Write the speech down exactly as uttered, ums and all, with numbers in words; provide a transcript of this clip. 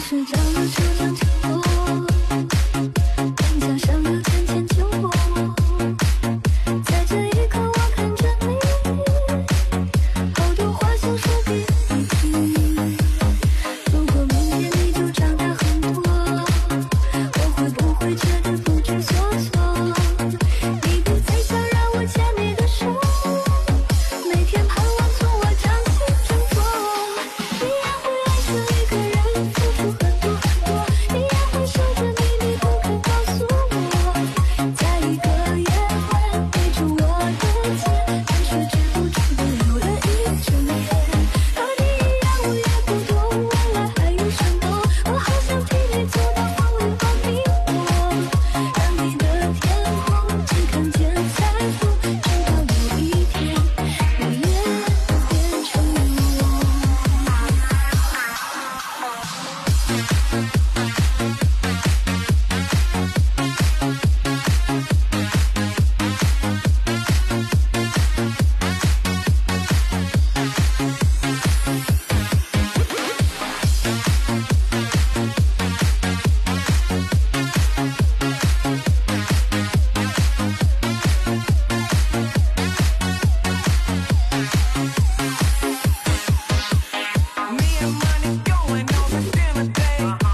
睡着了就能听我，灯架上有浅浅酒窝，在这一刻我看着你，好多话想说给你听。如果明天你就长大很多，我会不会觉得不知所措？你不再想让我牵你的手，每天盼望从我掌心挣脱。你也会爱上一个人，付出很多很多，你也会守着秘密不肯告诉我，在一个夜晚围住我的肩，但却止不住的流了一整夜。和你一样我也不懂未来还有什么，我好想替你走到黄昏和迷惑，让你的天空只看见彩虹，直到有一天你也变成了我。 Me and money going on a dinner date.